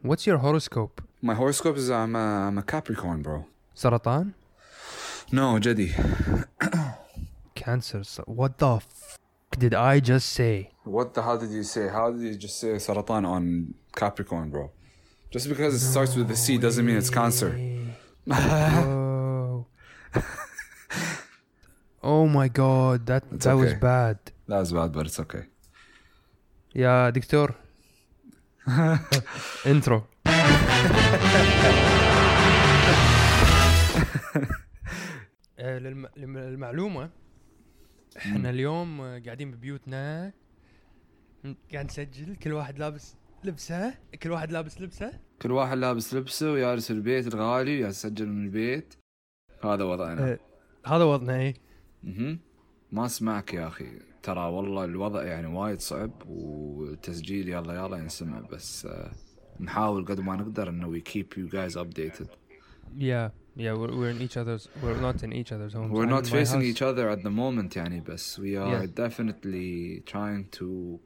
What's your horoscope? My horoscope is I'm a Capricorn, bro. سرطان? No, Jedi. Cancer. What the did I just say? What the hell did you say? How did you just say Saratan on Capricorn, bro? Just because it starts with the C doesn't mean it's Cancer. Whoa. Oh my god, that okay. was bad. That was bad, but it's okay. يا دكتور. intro. للمعلومة احنا اليوم قاعدين ببيوتنا قاعد نسجل كل واحد لابس لبسه كل واحد لابس لبسه ويارس البيت الغالي ويسجل من البيت. هذا وضعنا. هذا وضعنا ايه. ما اسمعك يا اخي ترى والله الوضع يعني وايد صعب والتسجيل يلا ينسمع بس نحاول قد ما نقدر انه we keep you guys updated. Yeah, we're not in each other's homes. We're not facing each other at the moment يعني بس we are definitely trying to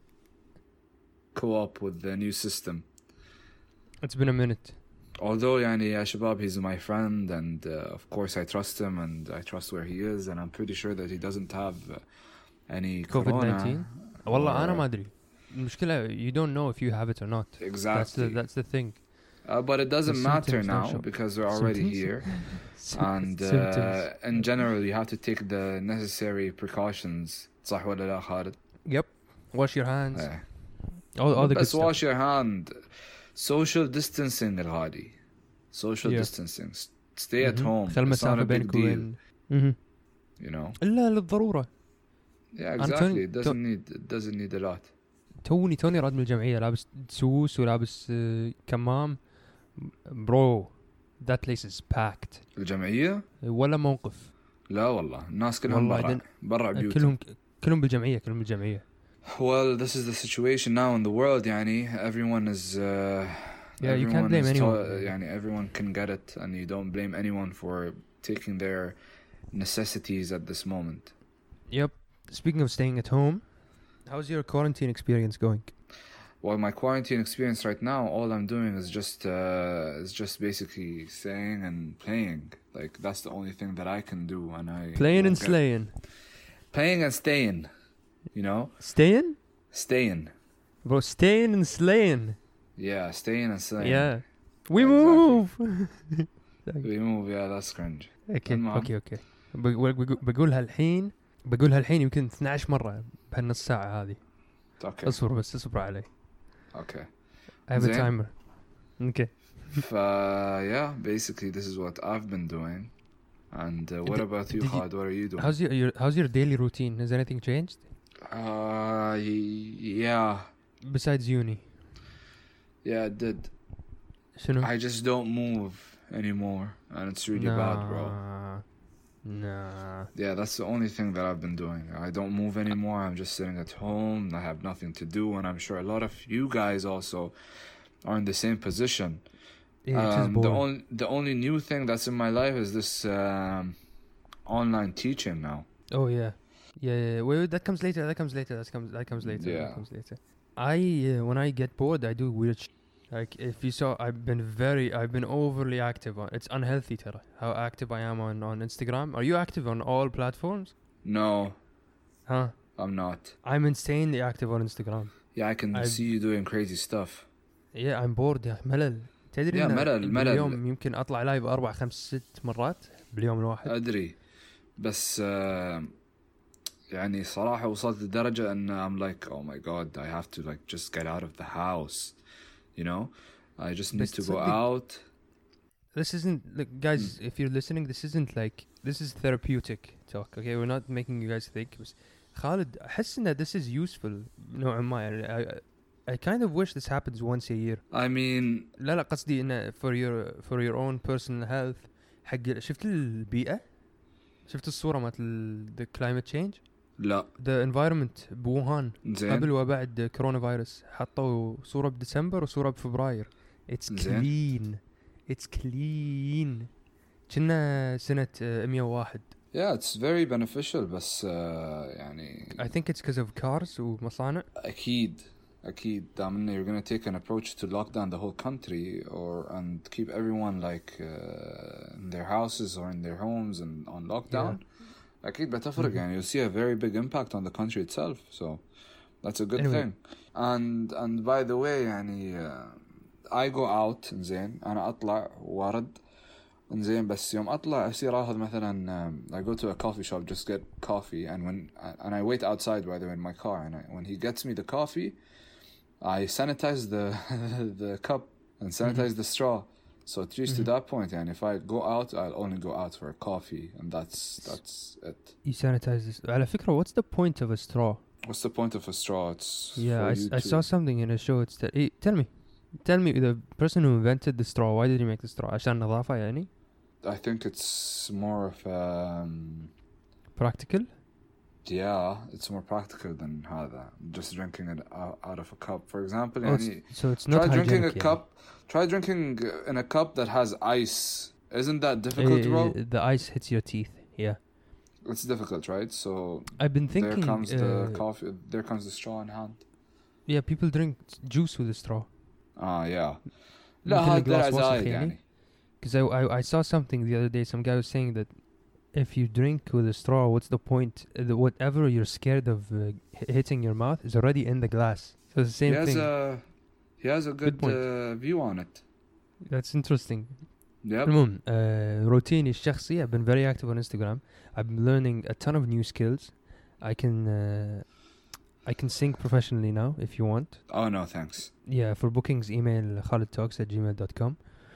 co-op with the new system. It's been a minute. Although يعني يا شباب he's my friend and of course I trust him and I trust where he is and I'm pretty sure that he doesn't have any COVID-19. والله أنا ما أدري. المشكلة you don't know if you have it or not. Exactly. That's the thing. But it doesn't matter now because we're already here. And in general you have to take the necessary precautions. صح ولا لا خالد؟ Yep. Wash your hands. All the good stuff. Wash your hand. Social distancing الغالي. Social distancing. Stay at home. خل مسافة بينك وبين. You know. إلا للضرورة. Yeah, exactly. It doesn't need a lot. توني راد من الجمعية لابس سوس ولابس كمام. Bro, that place is packed. الجمعية؟ ولا موقف. لا والله الناس كلهم برا بيوتهم. كلهم بالجمعية. Well, this is the situation now in the world يعني everyone is you can't blame anyone. يعني everyone can get it and you don't blame anyone for taking their necessities at this moment. Yep. Speaking of staying at home, how's your quarantine experience going? Well, my quarantine experience right now, all I'm doing is just basically staying and playing. Like that's the only thing that I can do, and I playing and slaying. Playing and staying, you know. Staying. Bro, staying and slaying. Yeah, staying and slaying. Yeah. We move. We move. Yeah, that's cringe. Okay. بقولها الحين يمكن 12 مرة بهالنص ساعة هذه. Okay. اصبر علي. Okay. I have a timer. Okay. Yeah, basically this is what I've been doing. And what about you, Khaled? What are you doing? How's your daily routine? Has anything changed? Yeah. Besides uni. Yeah, it did. شنو? I just don't move anymore, and it's really bad, bro. Nah. Yeah, that's the only thing that I've been doing. I don't move anymore. I'm just sitting at home. I have nothing to do, and I'm sure a lot of you guys also are in the same position. Yeah, the only new thing that's in my life is this online teaching now. Oh yeah. Wait, that comes later. That comes later. When I get bored, I do weird shit. Like if you saw, I've been overly active on. It's unhealthy, tera. How active I am on Instagram. Are you active on all platforms? No. Huh? I'm not. I'm insanely active on Instagram. Yeah, I can see you doing crazy stuff. Yeah, I'm bored. يا ملل. تدري ملل. اليوم يمكن أطلع لايف 4 5 6 مرات باليوم الواحد. أدري. بس يعني صراحة وصلت لدرجة أن I'm like, oh my god, I have to like just get out of the house. You know, I just need to go out. This isn't like, guys, if you're listening, this is therapeutic talk. Okay, we're not making you guys think. Khalid, أحس that this is useful نوعا ما. I kind of wish this happens once a year. I mean, لا قصدي إنه for your own personal health. حق شفت البيئة؟ شفت الصورة مالت the climate change؟ لا. The environment بوهان قبل وبعد كورونا فيروس حطوا صورة بديسمبر وصورة بفبراير. It's clean. كنا سنة 101. Yeah, it's very beneficial بس يعني I think it's because of cars ومصانع. أكيد أكيد دام you're gonna take an approach to lock down the whole country and keep everyone like in their houses or in their homes and on lockdown. أكيد بتفرق يعني you'll see a very big impact on the country itself. So that's a good thing. And by the way يعني I go out زين أنا أطلع وارد زين بس يوم أطلع أصير أخذ مثلا I go to a coffee shop just get coffee and I wait outside by the way in my car and when he gets me the coffee I sanitize the cup and sanitize the straw. So it reached to that point and if I go out I'll only go out for a coffee and that's it. You sanitize this. على فكرة what's the point of a straw? What's the point of a straw? It's I saw something in a show. It's tell me the person who invented the straw, why did he make the straw? عشان نظافة يعني? I think it's more of practical. Yeah, it's more practical than هذا. Just drinking it out of a cup, for example. So it's not hygienic. Try drinking in a cup that has ice. Isn't that difficult, bro? The ice hits your teeth. Yeah. It's difficult, right? So I've been thinking. There comes the coffee. There comes the straw in hand. Yeah, people drink juice with a straw. Yeah. لا هذا زايد يعني. Because I saw something the other day. Some guy was saying that if you drink with a straw, what's the point? Whatever you're scared of hitting your mouth is already in the glass. So it's the same thing. He has a good view on it. That's interesting. Yep. المهم روتيني الشخصي I've been very active on Instagram. I've been learning a ton of new skills. I can sing professionally now if you want. Oh no, thanks. Yeah, for bookings email khalidtalks@gmail.com.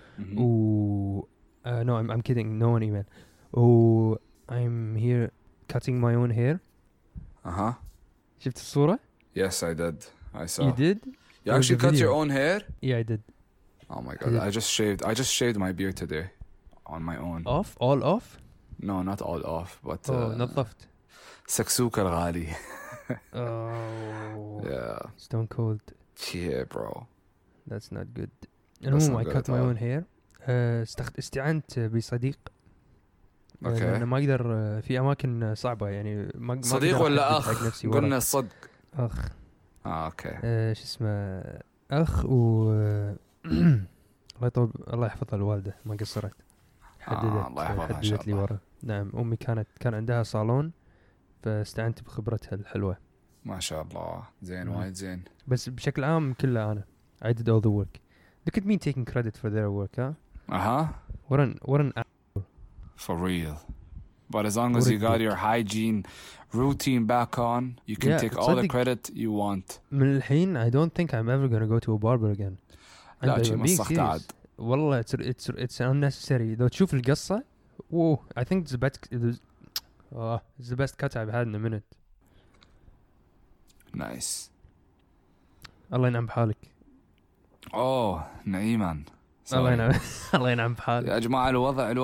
No, I'm kidding. No one email. I'm here cutting my own hair. شفت الصورة? Yes, I did. I saw. You did? You actually cut your own hair? Yeah, I did. Oh my god, I just shaved my beard today on my own. Off? All off? No, not all off, but نظفت. سكسوك الغالي. Oh. Yeah. Stone cold. Yeah, bro. That's not good. المهم I cut my own hair. استعنت بصديق. اوكي. أنا ما أقدر في أماكن صعبة يعني ما صديق ولا أخ؟ قلنا الصدق. أخ. اوكي. شو اسمه أخ الله يحفظها الوالدة ما قصرت. حددت لي ورا. نعم أمي كان عندها صالون فاستعنت بخبرتها الحلوة. ما شاء الله زين وايد زين. بس بشكل عام كله أنا I did all the work. Look at me taking credit for their work, huh? What an for real. But as long as you got your hygiene routine back on, you can take all the credit you want. من الحين I don't think I'm ever gonna go to a barber again. لا شيء مسخت عاد. والله it's unnecessary. لو تشوف القصة, I think it's the best cut I've had in a minute. Nice. الله ينعم بحالك. نعيما. الله ينعم بحالك. يا جماعة الوضع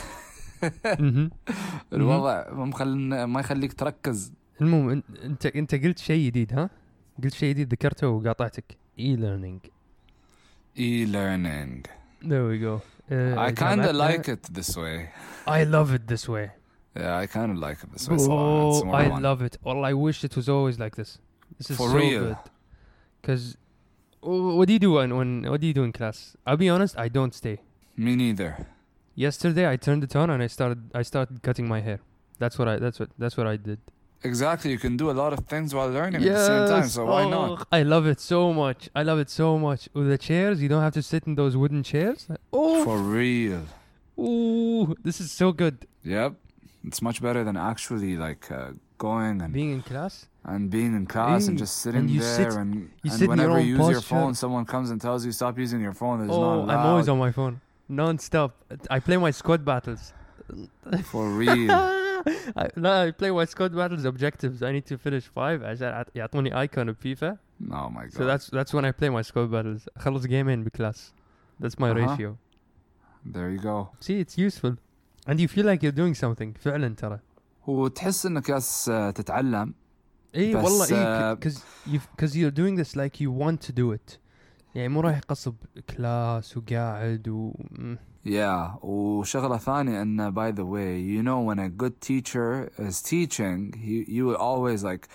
ما يخليك تركز. المهم انت قلت شيء جديد ها؟ قلت شيء جديد ذكرته وقاطعتك. e-learning. There we go. I kind of like it this way. I love it this way. Yeah, I kind of like it this way. I love it. Well, I wish it was always like this. This is for so real. good. Because what do you do what do you do in class? I'll be honest, I don't stay. Me neither. Yesterday I turned it on and I started cutting my hair. That's what I did. Exactly, you can do a lot of things while learning at the same time, so why not? I love it so much. With the chairs, you don't have to sit in those wooden chairs. For real. This is so good. Yep. It's much better than actually like going and being in class and just sitting there and whenever you use your phone, someone comes and tells you stop using your phone. It's not allowed. I'm always on my phone, non-stop. I play my squad battles. For real. I play my squad battles objectives. I need to finish 5 عشان يعطوني icon of FIFA. Oh my god. So that's when I play my squad battles. خلص game بكلاس. That's my ratio. There you go. See, it's useful. And you feel like you're doing something فعلا ترى. وتحس انك تتعلم. والله because you're doing this like you want to do it. يعني مو رايح قصب كلاس وقاعد Yeah, وشغلة ثانية أن by the way, you know when a good teacher is teaching, you will always like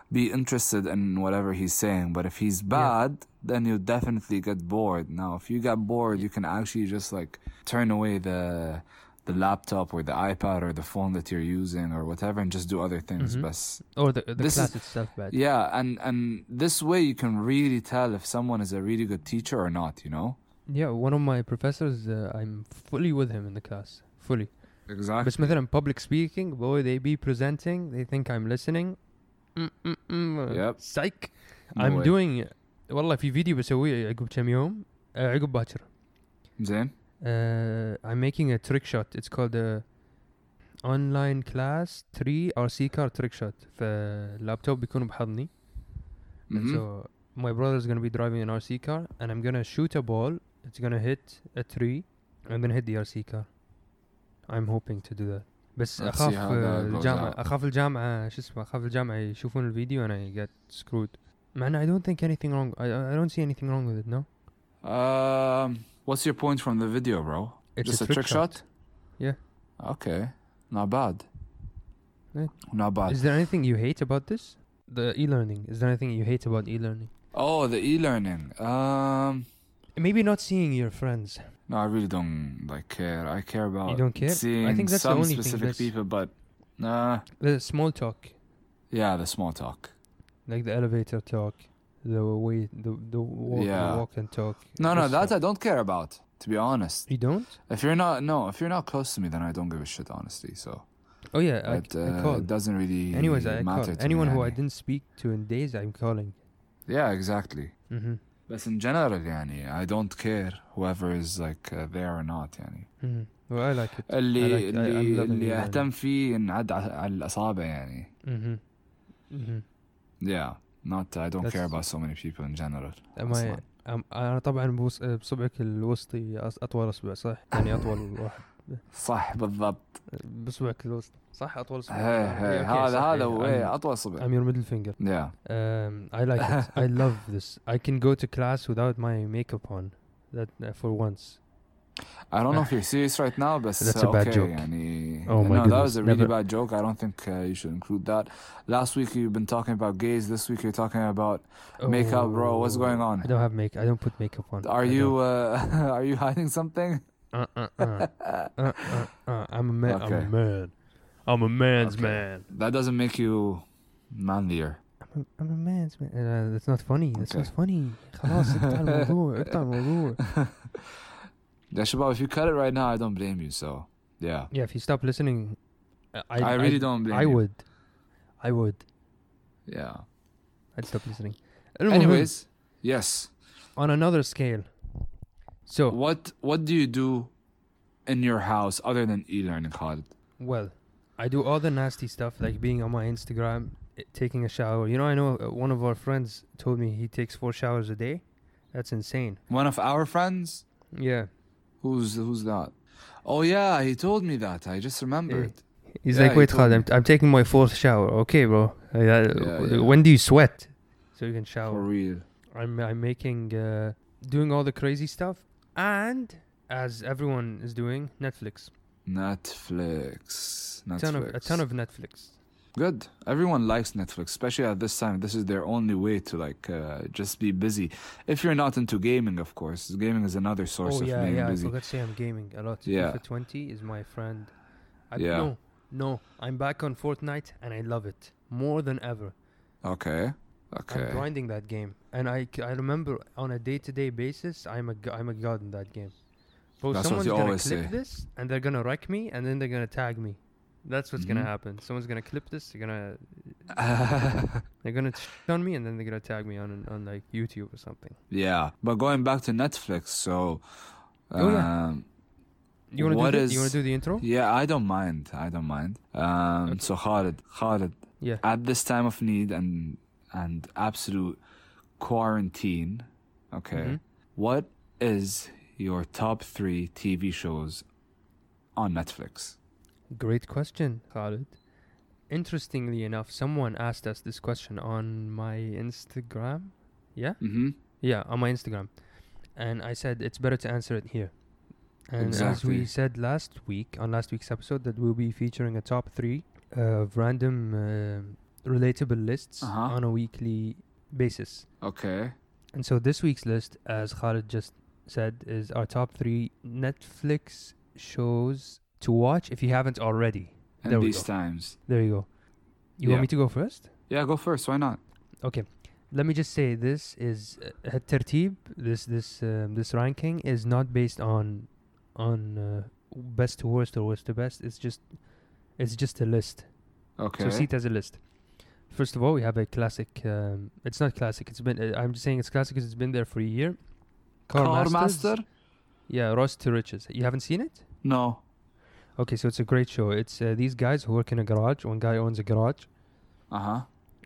be interested in whatever he's saying. But if he's bad, then you definitely get bored. Now, if you get bored, you can actually just like turn away the laptop or the iPad or the phone that you're using or whatever and just do other things. Or the class itself bad. Yeah, and this way you can really tell if someone is a really good teacher or not, you know? Yeah, one of my professors, I'm fully with him in the class. Fully. Exactly. بس مثلا public speaking, boy, they be presenting, they think I'm listening. Yep. Psych. No I'm way. doing والله في فيديو بسويه عقب كم يوم عقب باكر. زين. I'm making a trick shot. It's called a online class 3 RC car trick shot. فاللابتوب بيكون بحضني. And so my brother is going to be driving an RC car and I'm going to shoot a ball. It's going to hit a tree and then hit the RC car. I'm hoping to do that. بس أخاف الجامعة شو اسمه أخاف الجامعة يشوفون الفيديو and I get screwed. Man, I don't think anything wrong. I don't see anything wrong with it, no? What's your point from the video, bro? It's just a trick shot? Yeah. Okay. Not bad. Yeah. Not bad. Is there anything you hate about this? The e-learning. Is there anything you hate about e-learning? Oh, the e-learning. Maybe not seeing your friends. No, I really don't care. I care about You don't care? seeing I think that's some the only specific thing people, but the small talk. Yeah, the small talk. Like the elevator talk, the way, the walk and talk. No, that I don't care about, to be honest. You don't? If you're not close to me, then I don't give a shit, honestly. So. Oh yeah, I call. It doesn't really Anyways, I matter call. to Anyone me, who I didn't speak to in days, I'm calling. Yeah, exactly. But in general, I don't care whoever is like there or not, Well, I like it. اللي أهتم فيه ينعد على الأصابع Yeah, I don't care about so many people in general. أنا طبعا بصبعك الوسطي أطول أصبع صح؟ يعني أطول واحد. صح بالضبط. بصبعك الوسطي صح أطول أصبع. هذا هو أطول صبع. I'm your middle finger. Yeah. I like it. I love this. I can go to class without my makeup on. That for once. I don't know if you're serious right now, but that's a bad joke. Oh my goodness. That was a really bad joke. I don't think you should include that. Last week you've been talking about gays. This week you're talking about makeup, bro. What's going on? I don't have makeup. I don't put makeup on. Are you hiding something? I'm a man. Okay. I'm a man's man. That doesn't make you manlier. I'm a man's man. That's not funny. That's not funny. خلاص اقطع الموضوع. Yeah, Shabab, if you cut it right now, I don't blame you. So, yeah. Yeah, if you stop listening, I really don't blame you. I would. Yeah. I'd stop listening. Anyways, yes. On another scale. So, what do you do in your house other than e-learning, Khalid? Well, I do all the nasty stuff like being on my Instagram, taking a shower. You know, I know one of our friends told me he takes 4 showers a day. That's insane. One of our friends? Yeah. Who's that? Oh yeah, he told me that. I just remembered. He's like, wait, Khalid, I'm taking my 4th shower. Okay, bro. When do you sweat? So you can shower. For real. I'm making doing all the crazy stuff, and as everyone is doing, Netflix. A ton of Netflix. Good. Everyone likes Netflix, especially at this time. This is their only way to just be busy. If you're not into gaming, of course. Gaming is another source of being busy. I forgot to say I'm gaming a lot. Yeah. FIFA 20 is my friend. No. I'm back on Fortnite and I love it more than ever. Okay. I'm grinding that game, and I remember on a day-to-day basis, I'm a god in that game. But someone's gonna clip this, and they're gonna wreck me, and then they're gonna tag me. That's what's gonna happen. Someone's gonna clip this. They're gonna on me, and then they're gonna tag me on like YouTube or something. Yeah, but going back to Netflix, so. You wanna do the intro? Yeah, I don't mind. Okay. So Khalid. Yeah. At this time of need and absolute quarantine, okay. What is your top 3 TV shows on Netflix? Great question, Khalid. Interestingly enough, someone asked us this question on my Instagram. Yeah? Yeah, on my Instagram. And I said it's better to answer it here. And as we said on last week's episode, that we'll be featuring a top 3 of random relatable lists Uh-huh. on a weekly basis. Okay. And so this week's list, as Khalid just said, is our top 3 Netflix shows to watch if you haven't already. In There we these go. times. There you go. You Yeah. want me to go first? Yeah, go first. Why not? Okay. Let me just say this is tertib. This ranking is not based on best to worst or worst to best. It's just a list. Okay. So see it as a list. First of all, we have a classic. It's not classic. It's been. I'm just saying it's classic because it's been there for a year. Car Master? Yeah, Ross to Riches. You haven't seen it? No. Okay, so it's a great show. It's these guys who work in a garage. One guy owns a garage. Uh-huh.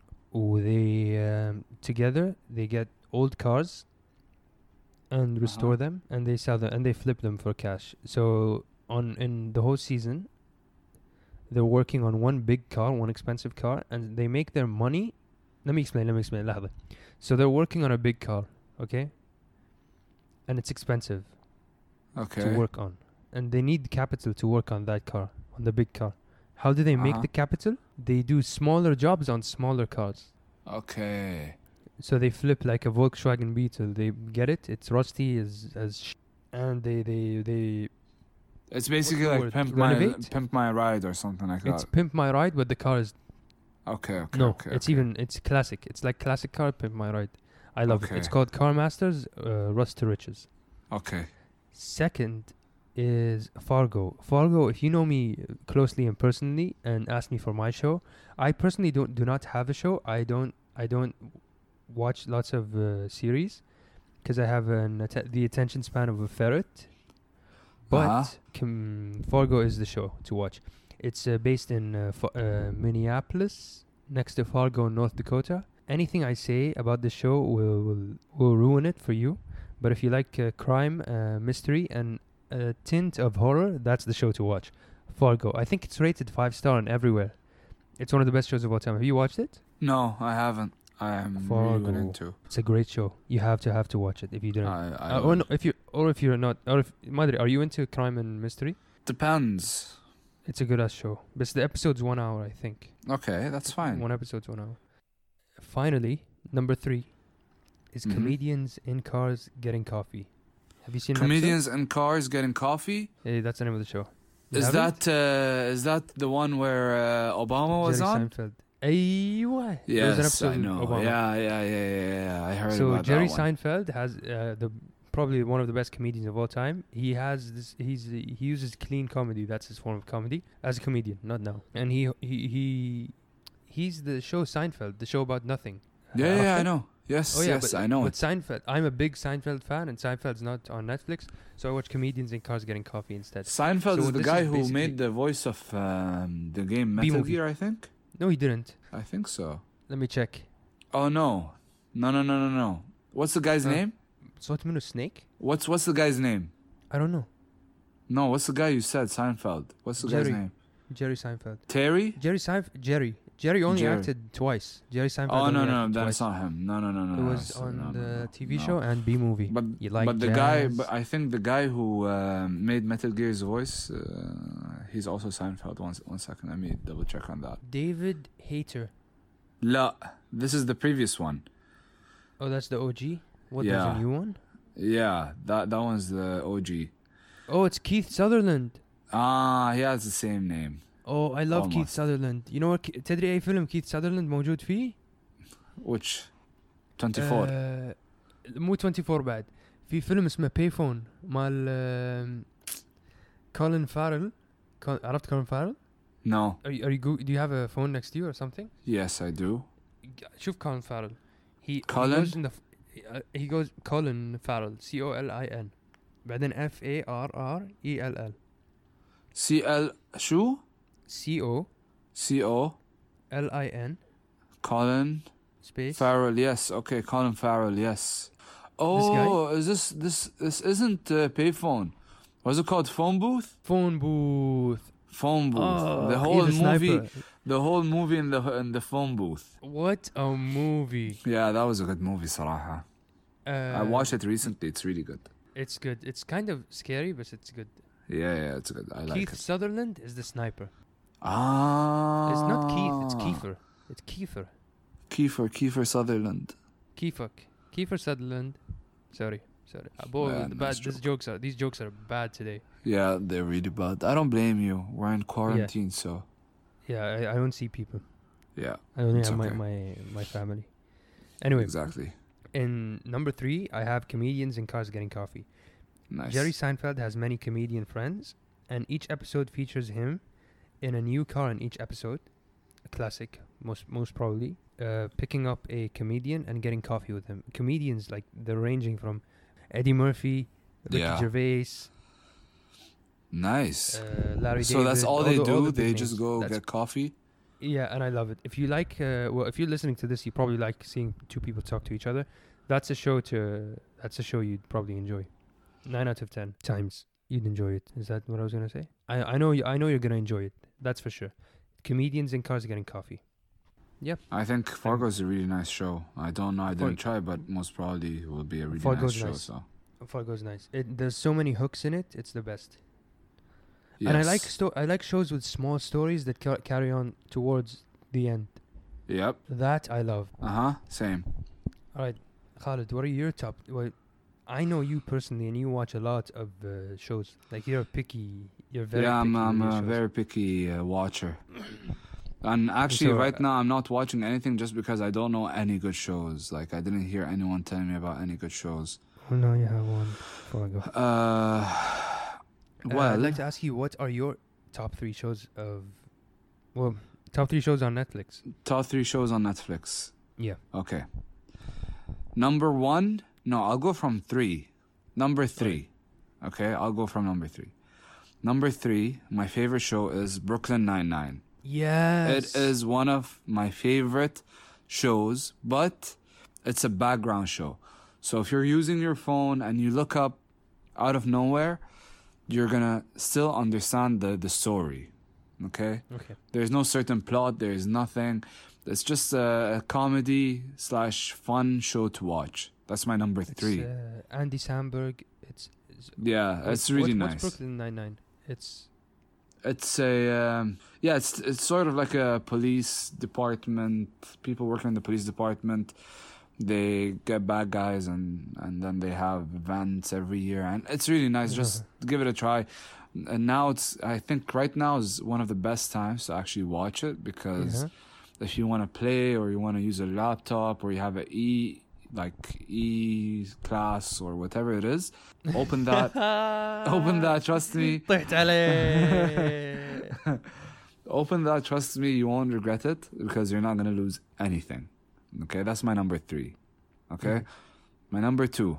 They together they get old cars and restore them, and they sell them and they flip them for cash. So in the whole season, they're working on one big car, one expensive car, and they make their money. Let me explain. لحظة. So they're working on a big car, okay? And it's expensive to work on, and they need capital to work on that car, on the big car. How do they make the capital? They do smaller jobs on smaller cars. Okay. So they flip like a Volkswagen Beetle. They get it. It's rusty and they. It's basically like Pimp My Ride or something like that. It's Pimp My Ride, but the car is. Okay. It's classic. It's like classic car Pimp My Ride. I love it. It's called Car Masters, Rust to Riches. Okay. Second is Fargo. Fargo, if you know me closely and personally and ask me for my show, I personally do not have a show. I don't watch lots of series because I have the attention span of a ferret. But Fargo is the show to watch. It's based in Minneapolis, next to Fargo, North Dakota. Anything I say about the show will ruin it for you. But if you like crime, mystery, and a tint of horror, that's the show to watch. Fargo. I think it's rated 5-star on everywhere. It's one of the best shows of all time. Have you watched it? No, I haven't. I am Fargo. really into. It's a great show. You have to watch it if you didn't. If you're not, Madre, are you into crime and mystery? Depends. It's a good ass show. But the episode's 1 hour, I think. Okay, that's fine. One episode's 1 hour. Finally, number 3 is comedians in cars getting coffee. Have you seen Comedians in Cars Getting Coffee? Hey, that's the name of the show. Is that the one where Obama was on? Jerry Seinfeld. Aywa. Yes, I know. Obama. Yeah. I heard about that one. So Jerry Seinfeld has probably one of the best comedians of all time. He has this. He uses clean comedy. That's his form of comedy as a comedian, not now. And he's the show Seinfeld, the show about nothing. Yeah, I know. Yes, I know. But Seinfeld, I'm a big Seinfeld fan, and Seinfeld's not on Netflix, so I watch comedians in cars getting coffee instead. Seinfeld is the guy who made the voice of the game Metal Gear, I think. No, he didn't. I think so. Let me check. Oh no. What's the guy's name? Snake? What's the guy's name? I don't know. No, what's the guy you said? Seinfeld. What's the guy's name? Jerry Seinfeld. Terry? Jerry only acted twice. Jerry Seinfeld. Oh no, that's not him. No. It was on the TV show and B movie. But I think the guy who made Metal Gear's voice, he's also Seinfeld. One second, let me double check on that. David Hayter. La, this is the previous one. Oh, that's the OG. What? There's a new one? Yeah, that one's the OG. Oh, it's Keith Sutherland. He has the same name. Oh, I love Keith Sutherland. You know what? تدري أي فيلم Keith Sutherland موجود فيه؟ Which? 24. مو 24 بعد. في فيلم اسمه Payphone مال Colin Farrell. عرفت Colin Farrell? No. Do you have a phone next to you or something? Yes, I do. شوف Colin Farrell. He goes Colin Farrell. COLIN. بعدين FARRELL. CL شو؟ COLIN. Colin Space Farrell. Yes. Okay, Colin Farrell. Yes. Oh, is this isn't Payphone? What's it called? Phone booth. Oh, The whole movie in the phone booth. What a movie! Yeah, that was a good movie, صراحة. I watched it recently. It's really good. It's good. It's kind of scary, but it's good. Yeah, it's good. I like it. Keith Sutherland is the sniper. Ah. It's not Keith. It's Kiefer. It's Kiefer. Kiefer Sutherland. Kiefer Sutherland. Sorry. Boy, Yeah, nice these jokes are bad today. Yeah, they're really bad. I don't blame you. We're in quarantine, so. Yeah, I don't see people. Yeah. I only it's have okay. my family. Anyway, Exactly. in number 3, I have comedians in cars getting coffee. Nice. Jerry Seinfeld has many comedian friends, and each episode features him in a new car in each episode. A classic, most probably. Picking up a comedian and getting coffee with him. Comedians, like, they're ranging from Eddie Murphy, Ricky Gervais. Nice. Larry David. So that's all they do? They just go That's get coffee? Yeah, and I love it. If you like, if you're listening to this, you probably like seeing two people talk to each other. That's a show you'd probably enjoy. 9 out of 10 times you'd enjoy it. Is that what I was gonna say? I know you're gonna enjoy it. That's for sure. Comedians in cars getting coffee. Yep. I think Fargo's a really nice show. I don't know. I didn't try, but most probably it will be a really nice show. So Fargo's nice. There's so many hooks in it. It's the best. yes. And I like shows with small stories that carry on towards the end. Yep. That I love. Same. All right, Khalid, what are your top? Well, I know you personally, and you watch a lot of shows. Like you're picky. You're very picky. I'm a very picky watcher. And actually, right now, I'm not watching anything just because I don't know any good shows. Like, I didn't hear anyone telling me about any good shows. Oh, no, you have one. Before I go. Well, I'd like to ask you, what are your top 3 shows top 3 shows on Netflix? Top 3 shows on Netflix. Yeah. Okay. Number 1. No, I'll go from 3. Number 3. Okay, I'll go from number 3. Number 3, my favorite show is Brooklyn Nine-Nine. Yes. It is one of my favorite shows, but it's a background show. So if you're using your phone and you look up out of nowhere, you're going to still understand the story. Okay? There's no certain plot. There's nothing. It's just a comedy / fun show to watch. That's my number 3. It's, Andy Samberg. It's really nice. What's Brooklyn Nine-Nine? It's sort of like a police department. People working in the police department, they get bad guys and then they have events every year, and it's really nice. Just give it a try. And now I think right now is one of the best times to actually watch it, because if you want to play or you want to use a laptop or you have E class or whatever it is, open that. Trust me. Open that. Trust me, you won't regret it, because you're not gonna lose anything. Okay, that's my number 3. Okay, my number 2.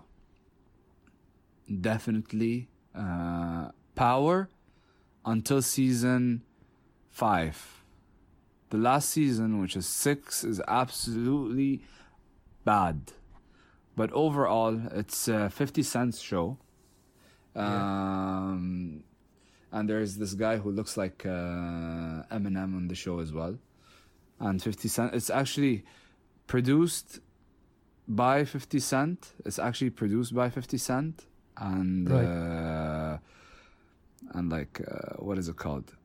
Definitely, Power, until season 5. The last season, which is 6, is absolutely bad. But overall, it's a 50 Cent's show. And there's this guy who looks like Eminem on the show as well. And 50 Cent, it's actually produced by 50 Cent. And what is it called?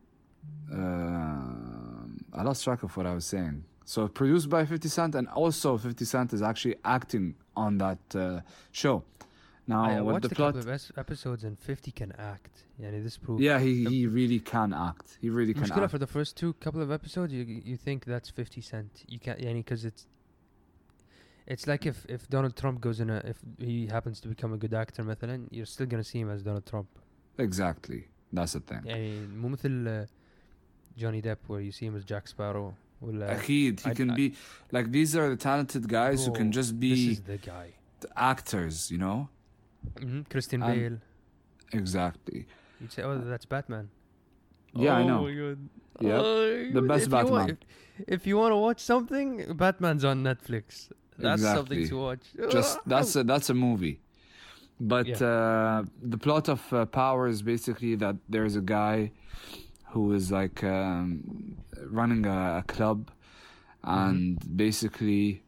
I lost track of what I was saying. So produced by 50 Cent, and also 50 Cent is actually acting on that show. Now, I what watched the a plot? couple of episodes, and 50 can act. This proves. Yeah, he really can act. He really can act. For the first couple of episodes, you think that's 50 Cent. You can't, because it's like if Donald Trump if he happens to become a good actor, مثلا, you're still gonna see him as Donald Trump. Exactly, that's the thing. مو مثل Johnny Depp, where you see him as Jack Sparrow. He can be like, these are the talented guys who can just be. This is the guy. The actors, Christian Bale. Exactly. You'd say, that's Batman. Yeah, I know. My God. Yeah, the best Batman. If you want to watch something, Batman's on Netflix. That's something to watch. That's a movie. But the plot of Power is basically that there's a guy who is like running a club, and basically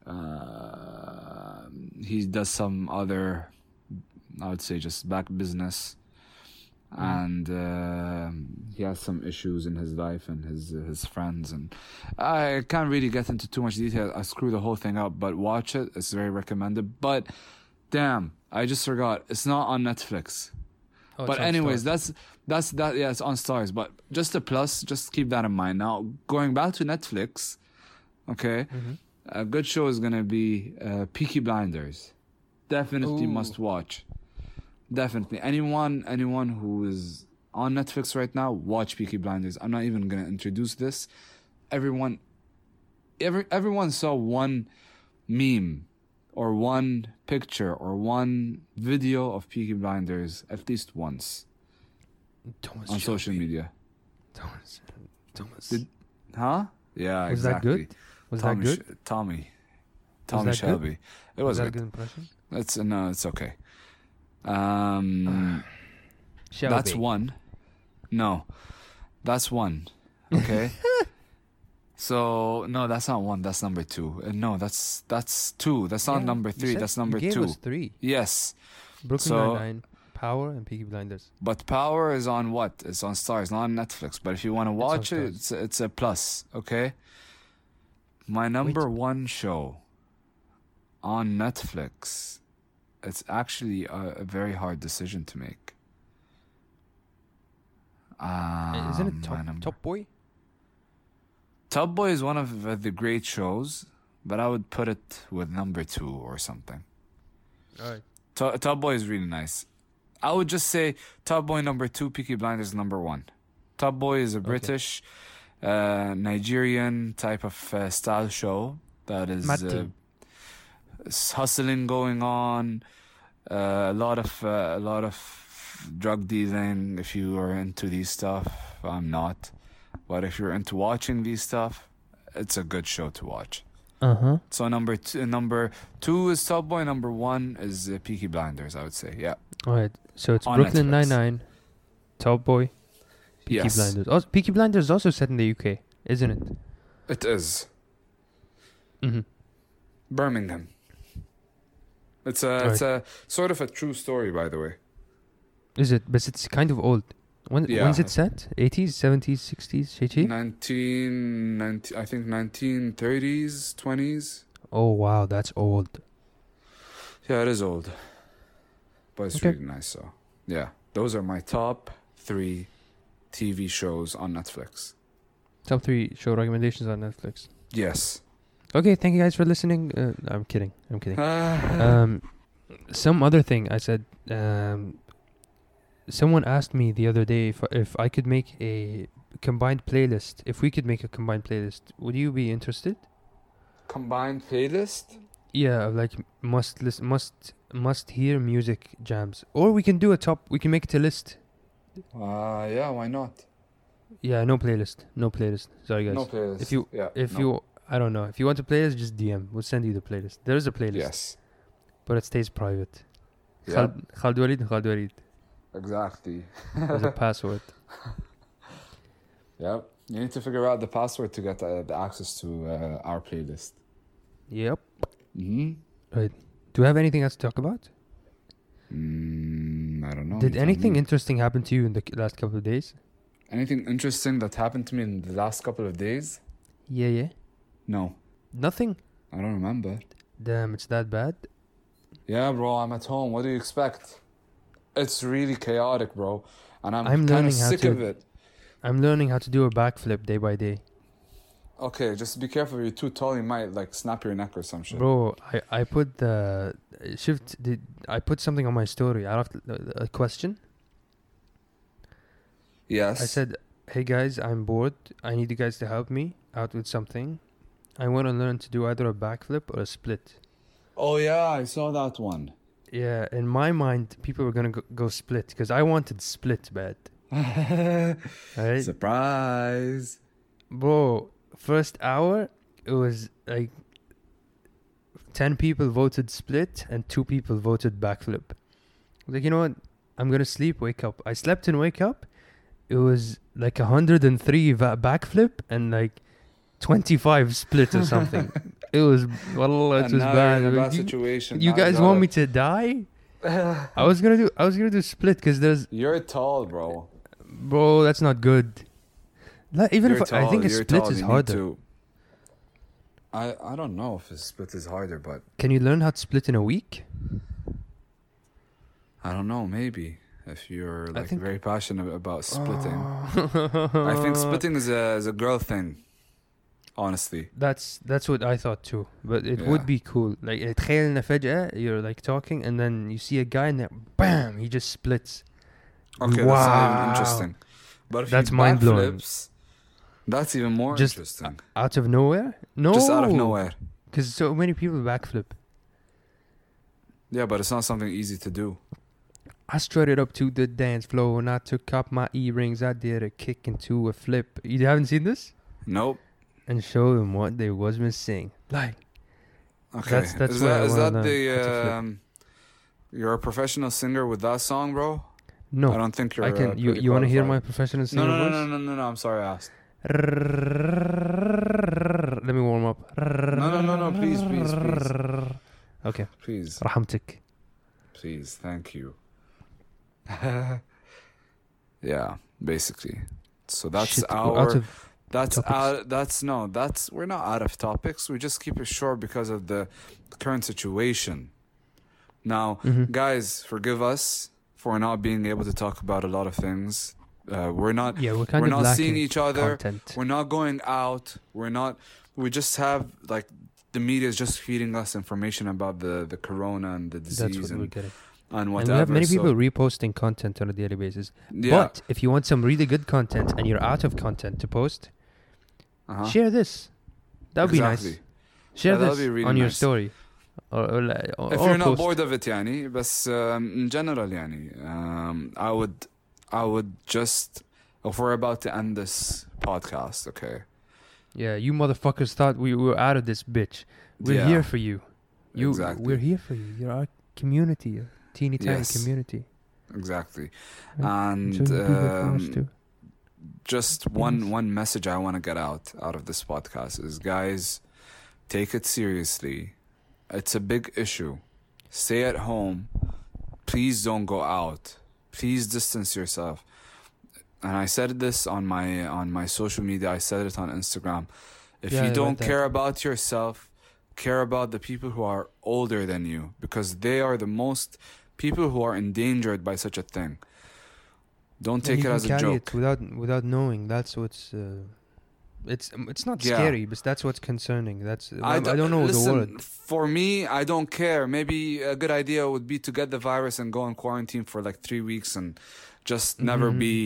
he does some other, I would say, just back business, and he has some issues in his life and his friends, and I can't really get into too much detail. I screw the whole thing up, but watch it. It's very recommended. But damn, I just forgot. It's not on Netflix. Oh, But anyways, that's that. Yeah, it's on Stars. But just a plus. Just keep that in mind. Now, going back to Netflix, okay, a good show is gonna be Peaky Blinders. Definitely must watch. Definitely, anyone who is on Netflix right now, watch Peaky Blinders. I'm not even gonna introduce this. Everyone saw one meme or one picture or one video of Peaky Blinders at least once Thomas on Shelby. social media. Thomas. Huh? Yeah, Was exactly. that good? Was that good? Tommy that good? Shelby. It was that a good. good impression? No, it's okay. Shelby. That's one. No, that's one. Okay. So no, that's not one. That's number two. No, that's two. That's not number three. That's number you gave two. us 3. Yes, Brooklyn So- Nine-Nine, Power, and Peaky Blinders. but Power is on what? It's on Stars, not on Netflix. But if you want to watch it, Stars. it's a plus. Okay. My number one show on Netflix. It's actually a very hard decision to make. Isn't it Top Boy? Top Boy is one of the great shows, but I would put it with number 2 or something. Alright. Top Boy is really nice. I would just say Top Boy number 2, Peaky Blinders number 1. Top Boy is a British, Nigerian type of style show that is hustling going on, a lot of drug dealing. If you are into these stuff, I'm not. But if you're into watching these stuff, it's a good show to watch. So number two is Top Boy. Number 1 is Peaky Blinders. I would say, yeah. Alright. So it's On Brooklyn Netflix. Nine-Nine, Top Boy, Peaky Yes, Blinders. Also, Peaky Blinders is also set in the UK, isn't it? it is Mm-hmm. Birmingham. It's a sort of a true story, by the way. Is it? But it's kind of old. When's it set? 80s, 70s, 60s, Shichi? 1990, I think 1930s, 20s. Oh wow, that's old. Yeah, it is old, but it's Okay. really nice. So yeah, those are my top 3 TV shows on Netflix. Top 3 show recommendations on Netflix. Yes. Okay, thank you guys for listening. I'm kidding. Some other thing I said. Someone asked me the other day if I could make a combined playlist. If we could make a combined playlist, would you be interested? Combined playlist. Yeah, like must hear music jams, or we can do a top. We can make it a list. Yeah, why not? Yeah, no playlist. Sorry guys. No playlist. If you I don't know if you want a playlist, just DM. We'll send you the playlist. There is a playlist. Yes. But it stays private. Yeah. Khalid Walid and Khalid Walid. Exactly. There's a password. Yep. You need to figure out the password to get the access to our playlist. Yep. Mm-hmm. Right. Do you have anything else to talk about? I don't know. Did You tell anything me. interesting happen to you in the last couple of days? Anything interesting that happened to me in the last couple of days? Yeah. No. Nothing? I don't remember. Damn, it's that bad? Yeah, bro, I'm at home. What do you expect? It's really chaotic, bro. And I'm I'm kind learning of how sick to- of it. I'm learning how to do a backflip day by day. Okay, just be careful. You're too tall. You might like snap your neck or some shit. Bro, I put the I put something on my story. I asked a question. Yes. I said, "Hey guys, I'm bored. I need you guys to help me out with something. I want to learn to do either a backflip or a split." Oh yeah, I saw that one. Yeah, in my mind, people were gonna go split because I wanted split bad. Right? Surprise. Bro, first hour it was like 10 people voted split and 2 people voted backflip. I was like, you know what? I'm gonna sleep, wake up. I slept and wake up. It was like 103 backflip and like 25 split or something. It was, well, it And was now bad. you're in a Like, bad situation. you Now guys gotta- want me to die? I was gonna do split because there's You're tall, bro. bro. That's not good. Even You're if I think a you're split tall, is you need harder. to- I don't know if a split is harder, but Can you learn how to split in a week? I don't know. Maybe if you're like think- very passionate about splitting, Oh. I think splitting is a girl thing. Honestly, That's what I thought too. But it Yeah. would be cool. Like تخيل إن فجأة you're like talking and then you see a guy and then bam he just splits. okay, that's not even interesting. But if That's he mind-blowing. backflips, that's even more Just interesting. Out of nowhere? No. Just out of nowhere. Because so many people backflip. Yeah, but it's not something easy to do. I strutted up to the dance floor and I took off my earrings. I did a kick into a flip. You haven't seen this? Nope. And show them what they was missing. Like, Okay. That's is what I that, is wanna that learn, the how to flip. you're a professional singer with that song, bro? I no. don't think you're. I can. You want to hear my professional singer No, no, voice? no, no, no, no. I'm sorry, I asked. Let me warm up. No, please. Okay. Please, رحمتك. please, thank you. Yeah, basically. So that's Shit, our. out of That's topics. we're not out of topics. We just keep it short because of the current situation. Now, guys, forgive us for not being able to talk about a lot of things. We're not Yeah, we're kind we're of not seeing lacking each other. content. We're not going out. We just have like the media is just feeding us information about the corona and the That's disease what we're and getting. whatever. And we have many so, people reposting content on a daily basis. yeah. But if you want some really good content and you're out of content to post, Uh-huh. share this. That would be Exactly. nice. Share Yeah, that would this be really on your nice. story. Or If or you're not post. bored of it يعني بس in general يعني I would just if we're about to end this podcast, okay? Yeah, you motherfuckers thought we were out of this bitch. We're Yeah, here for you. exactly. We're here for you. You're our community, a teeny tiny Yes. community. Exactly. Yeah. And So you do that for us too. just one message I want to get out of this podcast is, guys, take it seriously. It's a big issue. Stay at home. Please don't go out. Please distance yourself. And I said this on my social media. I said it on Instagram. If Yeah, you I don't read that. care about yourself, care about the people who are older than you, because they are the most people who are endangered by such a thing. Don't And take you it can as a carry joke. it without knowing. That's what's. It's not Yeah. scary, but that's what's concerning. That's I don't know listen, the word. For me, I don't care. Maybe a good idea would be to get the virus and go in quarantine for like 3 weeks and just never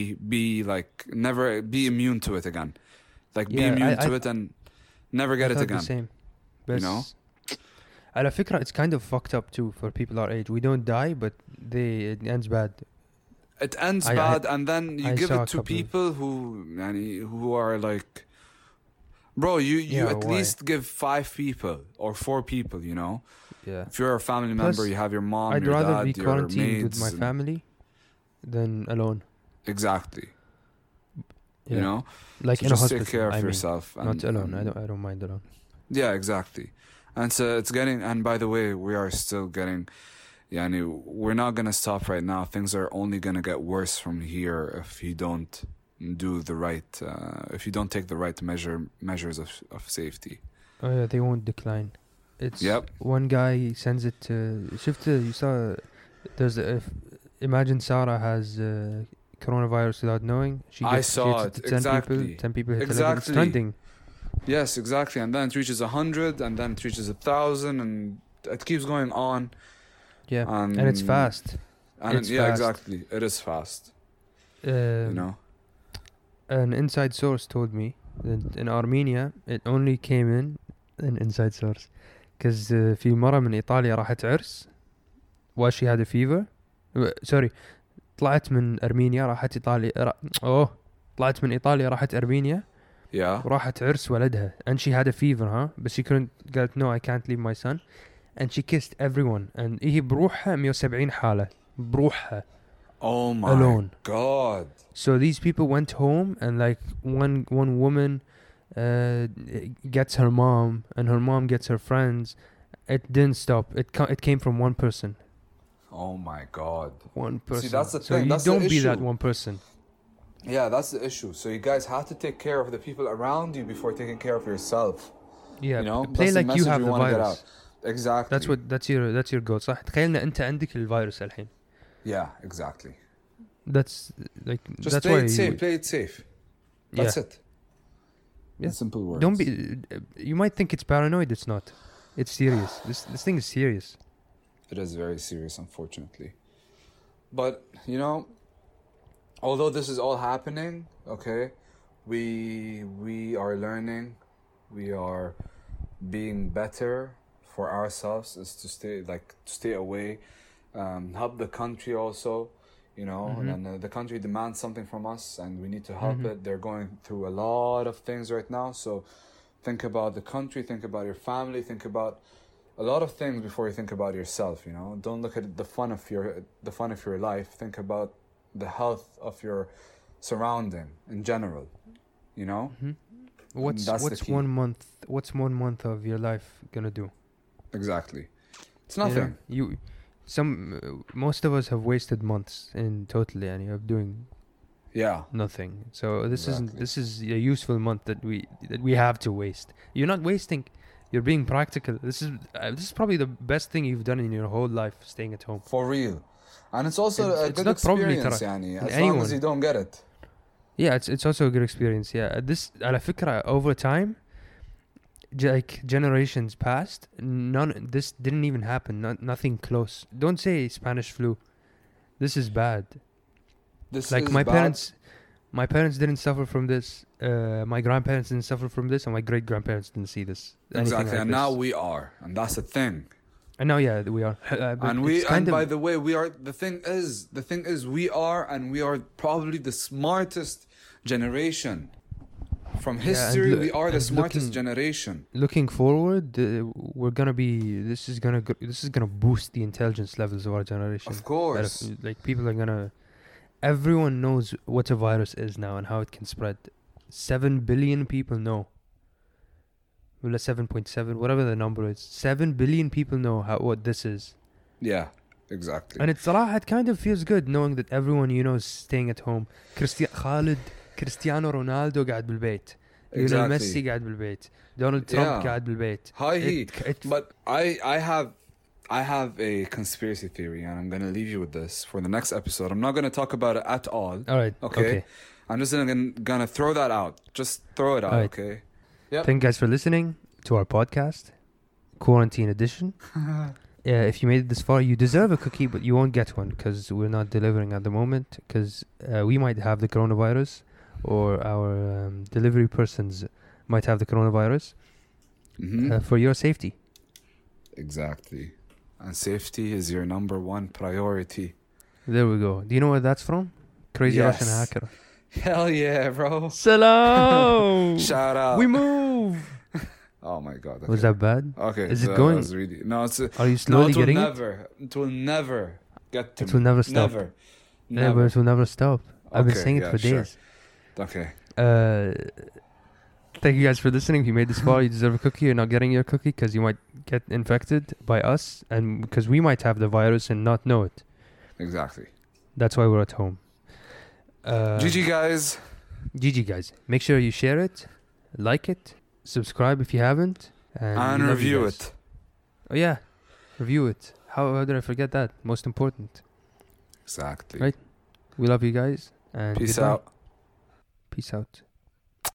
never be immune to it again. Like be Yeah, immune I- to it and never get I it thought again. The same. You know? على فكرة, it's kind of fucked up too for people our age. We don't die, but it ends bad. It ends I- bad, and then you I give saw it a to couple of- people who are like, bro, you Yeah, at why? least give 5 people or 4 people, you know? Yeah. If you're a family Plus, member, you have your mom, I'd your rather dad, be your quarantined with maids. my family than alone. Exactly. Yeah. You know? Like So in a just hospital. take care of I mean, yourself. not alone. I don't mind alone. Yeah, exactly. And so it's getting, and by the way, we are still getting, we're not going to stop right now. Things are only going to get worse from here if you don't do the right, if you don't take the right measures of safety. Oh yeah, they won't decline. It's Yep. one guy sends it to. You saw. There's imagine Sarah has coronavirus without knowing. I saw hits it, to 10 exactly. people. 10 people hit 11. It's Exactly. trending. Yes, exactly. And then it reaches 100, and then it reaches 1,000, and it keeps going on. Yeah, and it's fast. And It's yeah, fast. exactly. It is fast. You know. An inside source told me that in Armenia it only came in an inside source because في مرة من إيطاليا راحت عرس while she had a fever. Sorry, طلعت من أرمينيا راحت إيطاليا. طلعت من إيطاليا راحت أرمينيا. Yeah. وراحت عرس ولدها and she had a fever, huh? But she قالت no, I can't leave my son. And she kissed everyone. And هي بروحها 170 حالة بروحها. Oh my Alone. God. So these people went home and like one woman gets her mom and her mom gets her friends. It didn't stop. It came from one person. Oh my God. One person. See, that's the so thing. you That's don't the be issue. that one person. Yeah, that's the issue. So you guys have to take care of the people around you before taking care of yourself. Yeah, You know, play that's the like you message have we the wanna get virus. out. Exactly. That's your goal. صح؟ تخيلنا أنت عندك الفيروس الحين. Yeah, exactly. That's like Just that's play why it safe. Play it safe. That's it. Yeah. In simple words. Don't be. You might think it's paranoid. It's not. It's serious. This thing is serious. It is very serious, unfortunately. But you know, although this is all happening, okay, we are learning, we are being better for ourselves. Is to stay away, help the country also, you know, and then the country demands something from us, and we need to help it. They're going through a lot of things right now, so think about the country, think about your family, think about a lot of things before you think about yourself. You know, don't look at the fun of your life. Think about the health of your surrounding in general. You know, What's 1 month? What's 1 month of your life gonna do? Exactly, it's nothing. Most of us have wasted months in totally, and you're doing nothing. So this is a useful month that we have to waste. You're not wasting. You're being practical. This is probably the best thing you've done in your whole life, staying at home. For real. And it's also a good not probably experience, ترى. يعني, as long as you don't get it. Yeah, it's also a good experience. Yeah, this على فكرة over time, like generations passed, this didn't even happen. Nothing close. Don't say Spanish flu. This is bad. This Like is my bad. my parents didn't suffer from this. My grandparents didn't suffer from this, and my great grandparents didn't see this. Exactly, like and this. now we are, and that's the thing. And now, yeah, we are. And by the way, we are. The thing is, we are probably the smartest generation from history. We are the smartest generation. Looking forward, we're gonna be. This is gonna boost the intelligence levels of our generation. Of course, like people are gonna. Everyone knows what a virus is now and how it can spread. 7 billion people know. Well, 7.7, whatever the number is. 7 billion people know what this is. Yeah, exactly. And it kind of feels good knowing that everyone you know is staying at home. Cristiano Ronaldo قاعد بالبيت. Lionel Messi قاعد بالبيت. Donald Trump قاعد بالبيت. But I have a conspiracy theory, and I'm going to leave you with this for the next episode. I'm not going to talk about it at all. All right. Okay. I'm just going to throw that out. Just throw it out, right. Okay? Yep. Thank you guys for listening to our podcast, Quarantine Edition. If you made it this far, you deserve a cookie, but you won't get one because we're not delivering at the moment because we might have the coronavirus or our delivery persons might have the coronavirus for your safety. Exactly. And safety is your number one priority. There we go. Do you know where that's from? Crazy Russian hacker. Hell yeah, bro. Salam. Shout out. We move. Oh my God. Okay. Was that bad? Okay. Is it going? Really, no, it's. Are you slowly getting it will never get to. It will never stop. Never. Yeah, but it will never stop. I've been saying it for days. Okay. Thank you guys for listening. If you made this far, you deserve a cookie. You're not getting your cookie because you might get infected by us and because we might have the virus and not know it. Exactly. That's why we're at home. GG guys. GG guys. Make sure you share it, like it, subscribe if you haven't, and review it. Oh yeah, review it. How did I forget that? Most important. Exactly. Right. We love you guys and peace goodbye. out. Peace out.